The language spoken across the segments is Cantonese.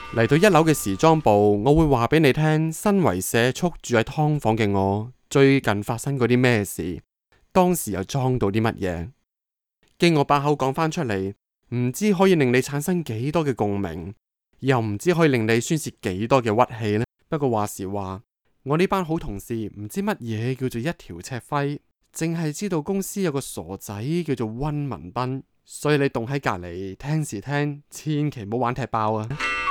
嚟到1樓嘅時裝部，我會話俾你聽，身為社畜住喺劏房嘅我，最近發生過啲咩事，當時又裝到啲乜嘢，經我把口講返出嚟，唔知可以令你產生幾多嘅共鳴，又唔知可以令你宣泄幾多嘅屈氣呢？不過話時話，我呢班好同事唔知乜嘢叫做一條赤輝，淨係知道公司有個傻仔叫做溫文斌，所以你棟喺隔籬聽時聽，千祈唔好玩踢爆啊！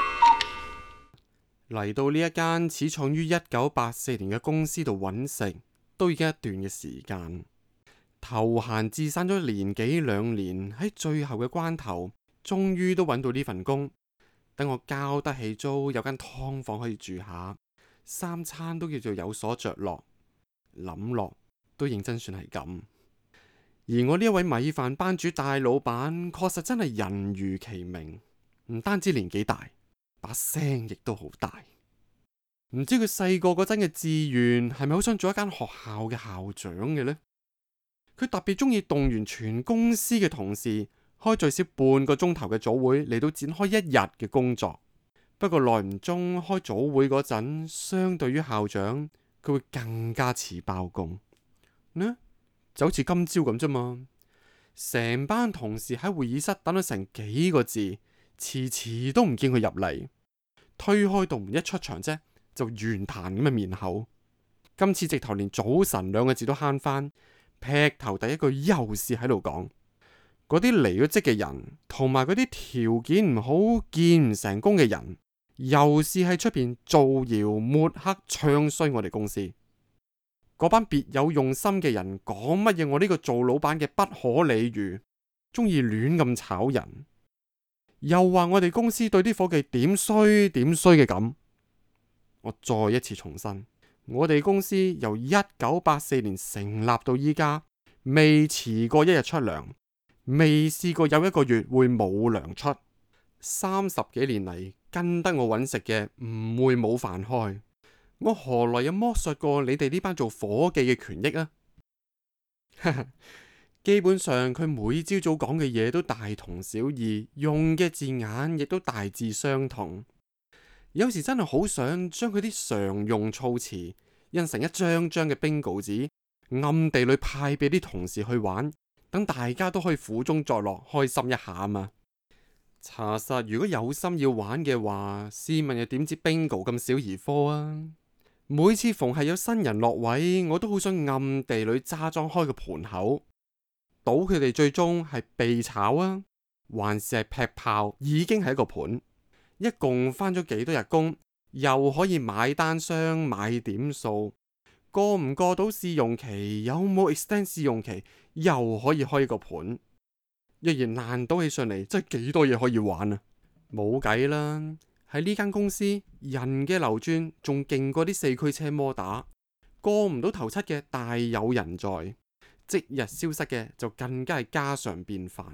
嚟到呢一間始創於1984年嘅公司度揾食，都已經一段嘅時間。投閒自散咗年幾2年，喺最後嘅關頭，終於都揾到呢份工。等我交得起租，有間劏房可以住下，3餐都叫做有所着落。諗落都認真算係咁。而我呢一位米飯班主大老闆，確實真係人如其名，唔單止年紀大，把聲亦都好大。唔知佢細個嗰陣嘅志願係咪好想做一間學校嘅校長嘅呢？佢特別中意動員全公司嘅同事，開最少半個鐘頭嘅早會嚟到展開1日嘅工作。不過耐唔中開早會嗰陣，相對於校長，佢會更加似包公呢，就好似今朝咁啫嘛。成班同事喺會議室等咗成幾個字，遲遲都唔見佢入嚟。推開道門一出場啫，就圓彈咁嘅面口。今次直頭連早晨2個字都慳翻，劈頭第一句又是喺度講嗰啲離咗職嘅人，同埋嗰啲條件唔好、見唔成功嘅人，又是喺出邊造謠抹黑、唱衰我哋公司。嗰班別有用心嘅人講乜嘢？我呢個做老闆嘅不可理喻，中意亂咁炒人，又話我哋公司對啲伙計點衰嘅咁。我再一次重申，我哋公司由1984年成立到依家，未遲過1日出糧，未試過有1個月會冇糧出。30幾年嚟跟得我揾食嘅，唔會冇飯開。我何來有剝削過你哋呢班做伙計嘅權益啊？基本上佢每朝早講嘅嘢都大同小異，用嘅字眼亦都大致相同。有時真係好想將佢啲常用措辭印成一張張嘅 bingo 紙，暗地裏派俾啲同事去玩，等大家都可以苦中作樂，開心一下啊嘛。查實如果有心要玩嘅話，試問又點知 bingo 咁小兒科啊？每次逢係有新人落位，我都好想暗地裏揸裝開個盤口，賭佢哋最終係被炒啊，還是係劈炮，已經係一個盤。一共返咗幾多日工，又可以買單雙買點數，過唔過到試用期，有冇 extend 試用期，又可以開一個盤。若然爛賭起上嚟，真係幾多嘢可以玩啊！冇計啦。喺呢間公司，人嘅流轉仲勁過啲4驅車摩打，過唔到頭7嘅大有人在，即日消失嘅就更加係家常便飯。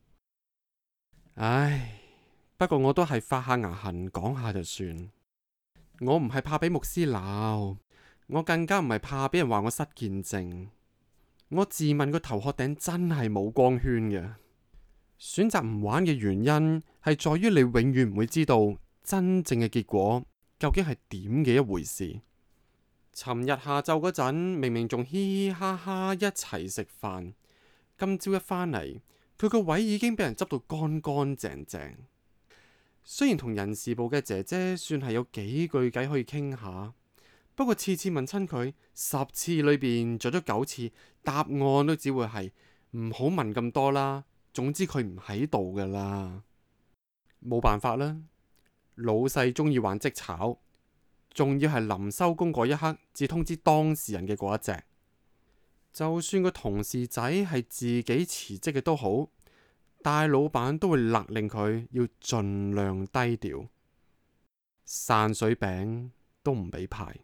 唉，不過我都係發下牙痕講下就算。我唔係怕俾牧師鬧，我更加唔係怕俾人話我失見證。我自問個頭殼頂真係冇光圈嘅。選擇唔玩嘅原因係在於你永遠唔會知道真正嘅結果究竟係點嘅一回事。尋日下晝嗰陣，明明仲嘻嘻哈哈一齊食飯，今朝一返嚟，佢個位已經俾人執到乾乾淨淨。雖然同人事部嘅姐姐算係有幾句偈可以傾下，不過次次問親佢10次裏邊做咗9次，答案都只會係唔好問咁多啦。總之佢唔喺度噶啦，冇辦法啦。老細中意玩即炒，仲要係臨收工嗰一刻至通知當事人嘅嗰一隻。就算個同事仔係自己辭職嘅都好，大老闆都會勒令佢要盡量低調，散水餅都唔俾派。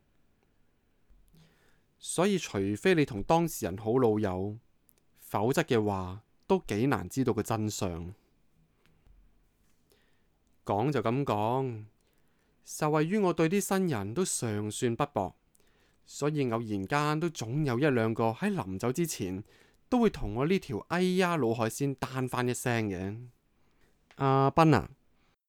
所以除非你同當事人好老友，否則嘅話都幾難知道個真相。講就咁講，受惠於我對啲新人都尚算不薄，所以偶然間都總有1兩個喺臨走之前都會同我呢條哎呀老海鮮單翻一聲嘅。阿斌啊，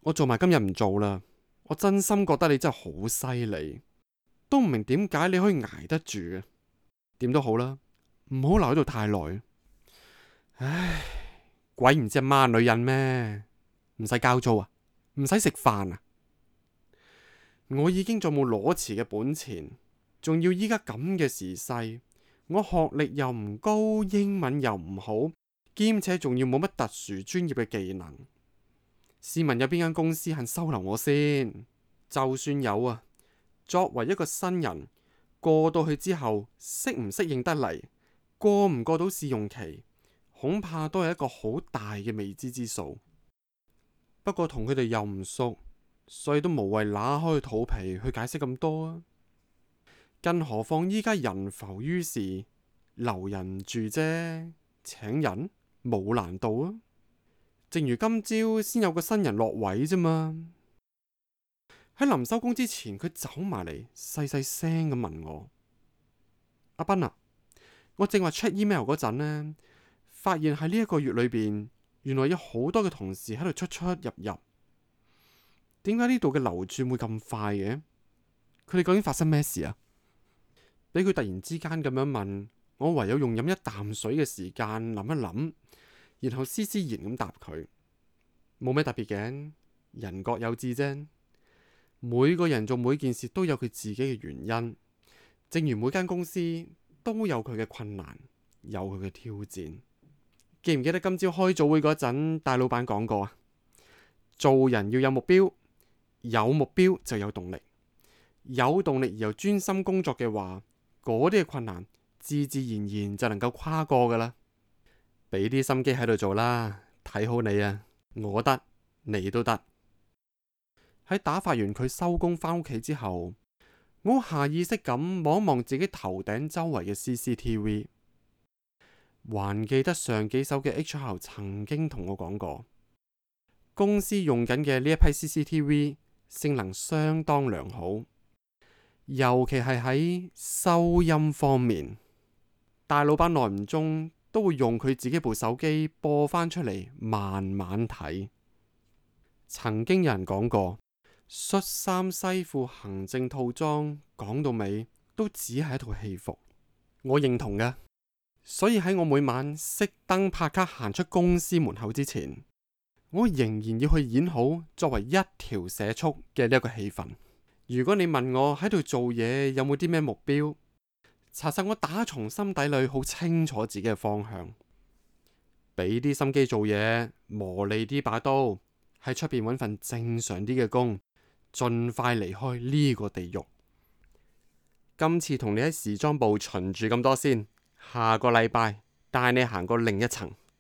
我做埋今日唔做啦。我真心覺得你真係好犀利，都唔明點解你可以捱得住嘅。點都好啦，唔好留喺度太耐。唉，鬼唔知阿媽女人咩？唔使交租啊，唔使食飯啊。我已經再冇裸辭嘅本錢，仲要依家咁嘅時勢，我學歷又唔高，英文又唔好，兼且仲要冇乜特殊專業嘅技能。試問有邊間公司肯收留我先？就算有啊，作為一個新人，過到去之後，適唔適應得嚟，過唔過到試用期，恐怕都係一個好大嘅未知之數。不過同佢哋又唔熟，所以都無謂揦開肚皮去解釋咁多啊。更何況依家人浮於事，留人唔住啫，請人冇難度啊。正如今朝先有個新人落位啫嘛。喺臨收工之前，佢走埋嚟，細細聲咁問我：阿斌啊，我正話 check email 嗰陣呢，發現喺呢一個月裏邊，原來有好多嘅同事喺度出出入入。點解呢度嘅流轉會咁快嘅？佢哋究竟發生咩事啊？俾佢突然之間咁樣問，我唯有用飲一啖水嘅時間諗一諗，然後斯斯然咁答佢：冇咩特別嘅，人各有志啫。每個人做每件事都有佢自己嘅原因，正如每間公司都有佢嘅困難，有佢嘅挑戰。記唔記得今朝開早會嗰陣，大老闆講過啊？做人要有目標，有目標就有動力，有動力而又專心工作嘅話，嗰啲嘅困難自自然然就能夠跨過噶啦。俾啲心機喺度做啦，睇好你啊！我得，你都得。喺打發完佢收工返屋企之後，我下意識咁望一望自己頭頂周圍嘅 CCTV， 還記得上幾手嘅 HR 曾經同我講過，公司用緊嘅呢一批 CCTV 性能相當良好，尤其係喺收音方面，大老闆耐唔中都會用佢自己部手機播翻出嚟慢慢睇。曾經有人講過，恤衫西褲行政套裝講到尾都只係一套戲服，我認同嘅。所以喺我每晚熄燈拍卡行出公司門口之前，我仍然要去演好作為一條社畜嘅呢一個氣氛。如果你問我喺度做嘢有冇啲咩目標，查實我打從心底裏好清楚自己嘅方向，俾啲心機做嘢，磨利啲把刀，喺出邊揾份正常啲嘅工，盡快離開呢個地獄。今次同你喺時裝部巡住咁多先，下個禮拜帶你行過另一層。